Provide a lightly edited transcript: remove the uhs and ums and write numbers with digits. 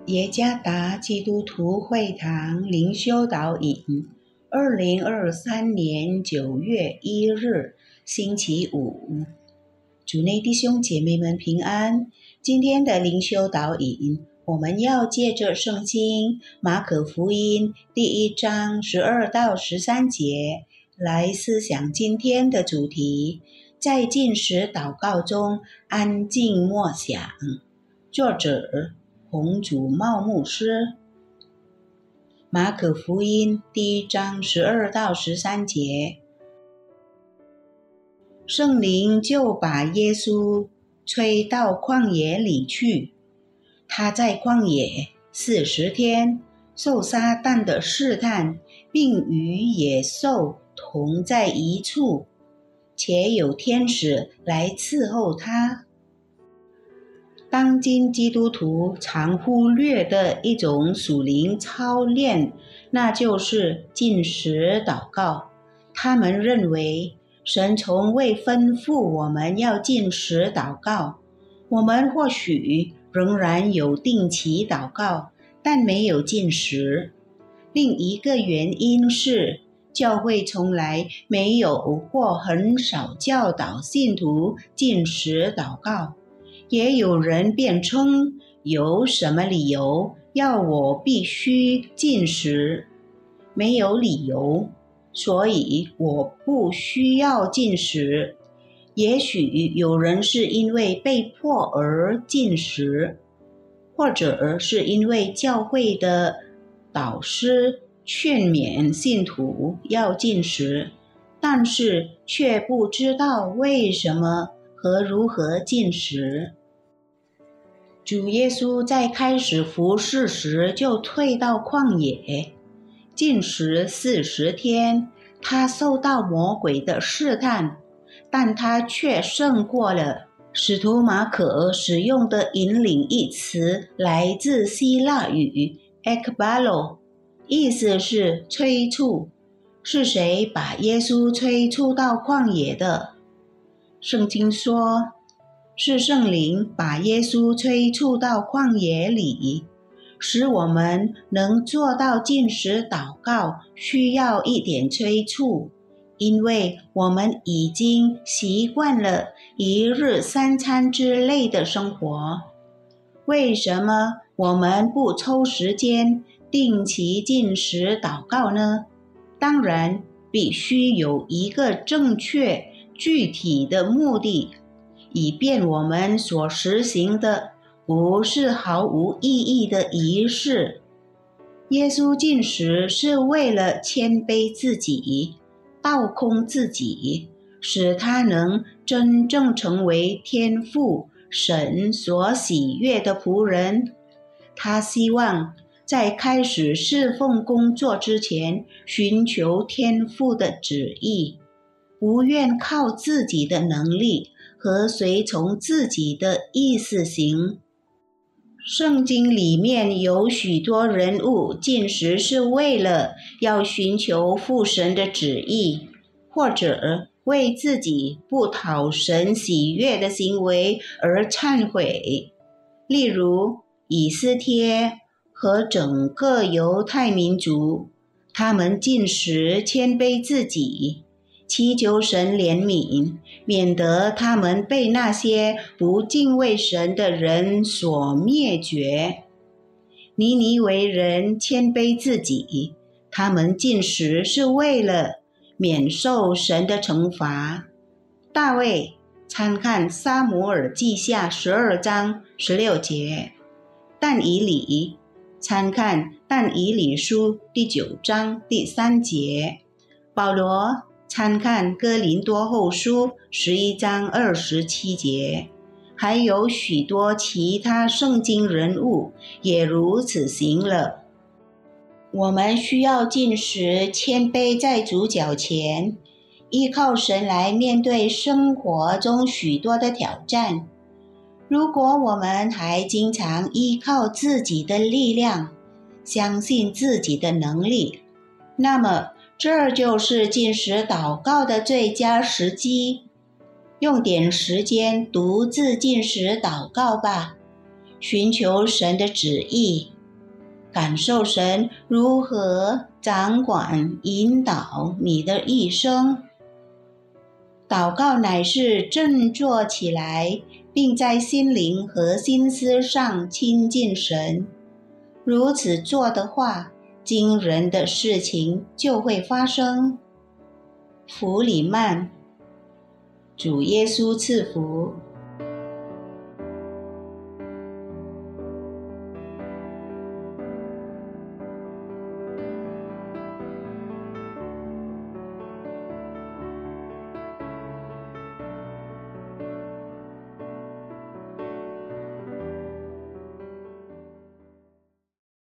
耶加达基督徒会堂灵修导引，2023年9月1日，星期五。主内弟兄姐妹们平安。今天的灵修导引，我们要借着圣经马可福音第1章12到13节来思想今天的主题，在禁食祷告中安静默想。作者洪祖茂牧师。马可福音第1章12到13节，圣灵就把耶稣吹到旷野里去。他在旷野40天，受撒旦的试探，并与野兽同在一处，且有天使来伺候他。当今基督徒常忽略的一种属灵操练，那就是禁食祷告。他们认为神从未吩咐我们要禁食祷告。我们或许仍然有定期祷告，但没有禁食。另一个原因是，教会从来没有或很少教导信徒禁食祷告。也有人辩称，有什么理由要我必须禁食？没有理由，所以我不需要禁食。也许有人是因为被迫而禁食，或者是因为教会的导师劝勉信徒要禁食，但是却不知道为什么和如何禁食。主耶稣在开始服事时就退到旷野，禁食40天。他受到魔鬼的试探，但他却胜过了。使徒马可使用的引领一词来自希腊语 ekbalo， 意思是催促。是谁把耶稣催促到旷野的？圣经说，是圣灵把耶稣催促到旷野里。使我们能做到禁食祷告，需要一点催促，因为我们已经习惯了1日3餐之类的生活。为什么我们不抽时间定期禁食祷告呢？当然，必须有一个正确具体的目的，以便我们所实行的不是毫无意义的仪式。耶稣禁食是为了谦卑自己，倒空自己，使他能真正成为天父神所喜悦的仆人。他希望在开始侍奉工作之前，寻求天父的旨意，不愿靠自己的能力和随从自己的意思行。圣经里面有许多人物禁食是为了要寻求父神的旨意，或者为自己不讨神喜悦的行为而忏悔。例如以斯帖和整个犹太民族，他们禁食谦卑自己，祈求神怜悯，免得他们被那些不敬畏神的人所灭绝。尼尼微人谦卑自己，他们禁食是为了免受神的惩罚。大卫，参看撒母耳记下12章16节。但以理，参看但以理书第9章第3节。保罗，参看哥林多后书11章27节。还有许多其他圣经人物也如此行了。我们需要禁食，谦卑在主脚前，依靠神来面对生活中许多的挑战。如果我们还经常依靠自己的力量，相信自己的能力，那么这就是禁食祷告的最佳时机。用点时间独自禁食祷告吧，寻求神的旨意， 感受神如何掌管引导你的一生。祷告乃是振作起来，并在心灵和心思上亲近神。如此做的话，惊人的事情就会发生。弗里曼，主耶稣赐福。